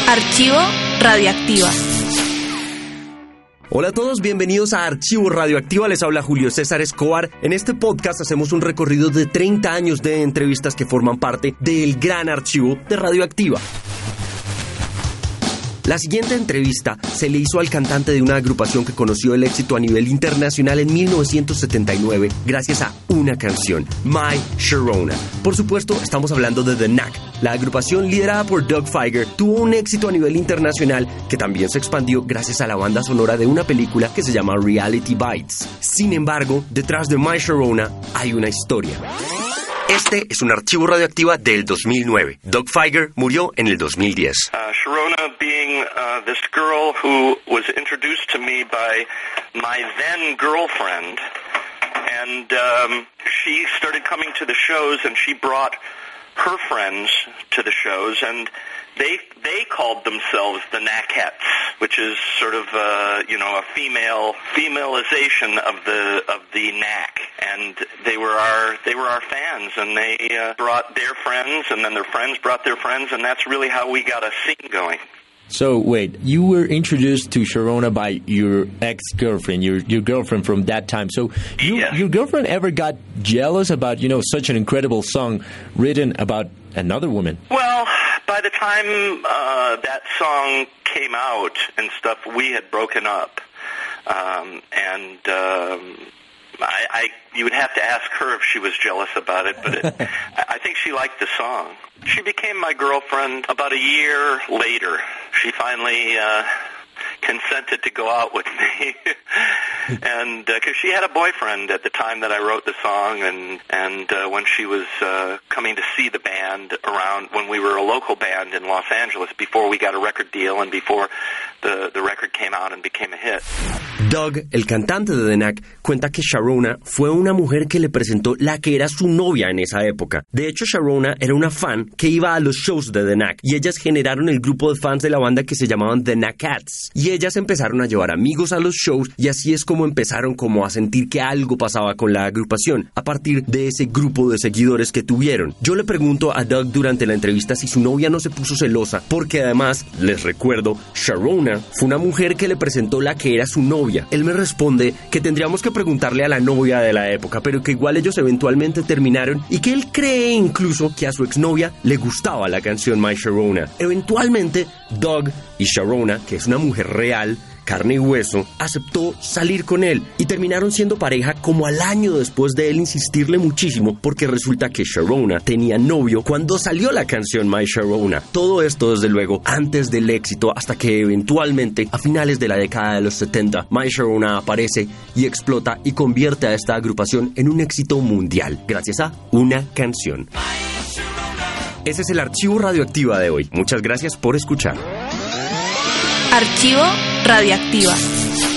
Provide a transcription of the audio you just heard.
Archivo Radioactiva. Hola a todos, bienvenidos a Archivo Radioactiva, les habla Julio César Escobar. En este podcast hacemos un recorrido de 30 años de entrevistas que forman parte del gran archivo de Radioactiva. La siguiente entrevista se le hizo al cantante de una agrupación que conoció el éxito a nivel internacional en 1979 gracias a una canción, My Sharona. Por supuesto, estamos hablando de The Knack. La agrupación liderada por Doug Fieger tuvo un éxito a nivel internacional que también se expandió gracias a la banda sonora de una película que se llama Reality Bites. Sin embargo, detrás de My Sharona hay una historia. Este es un archivo radioactiva del 2009. Doug Fieger murió en el 2010. Sharona being this girl who was introduced to me by my then girlfriend, and she started coming to the shows, and she brought her friends to the shows, and they called themselves the Knackettes, which is sort of a feminization of the Knack, and they were our fans, and they brought their friends, and then their friends brought their friends, and that's really how we got a scene going. So wait, you were introduced to Sharona by your ex-girlfriend, your girlfriend from that time. So your girlfriend ever got jealous about, such an incredible song written about another woman? Well, by the time that song came out and stuff, we had broken up. You would have to ask her if she was jealous about it, but I think she liked the song. She became my girlfriend about a year later. She finally consented to go out with me, and because she had a boyfriend at the time that I wrote the song, and when she was coming to see the band around, when we were a local band in Los Angeles, before we got a record deal and before the record came out and became a hit. Doug, el cantante de The Knack, cuenta que Sharona fue una mujer que le presentó la que era su novia en esa época. De hecho, Sharona era una fan que iba a los shows de The Knack y ellas generaron el grupo de fans de la banda que se llamaban The Knackettes. Y ellas empezaron a llevar amigos a los shows y así es como empezaron como a sentir que algo pasaba con la agrupación a partir de ese grupo de seguidores que tuvieron. Yo le pregunto a Doug durante la entrevista si su novia no se puso celosa porque además, les recuerdo, Sharona fue una mujer que le presentó la que era su novia. Él me responde que tendríamos que preguntarle a la novia de la época, pero que igual ellos eventualmente terminaron y que él cree incluso que a su exnovia le gustaba la canción My Sharona. Eventualmente, Doug y Sharona, que es una mujer real, carne y hueso, aceptó salir con él y terminaron siendo pareja como al año después de él insistirle muchísimo porque resulta que Sharona tenía novio cuando salió la canción My Sharona. Todo esto desde luego antes del éxito hasta que eventualmente a finales de la década de los 70 My Sharona aparece y explota y convierte a esta agrupación en un éxito mundial gracias a una canción. Ese es el archivo radioactiva de hoy. Muchas gracias por escuchar. Archivo Radioactiva.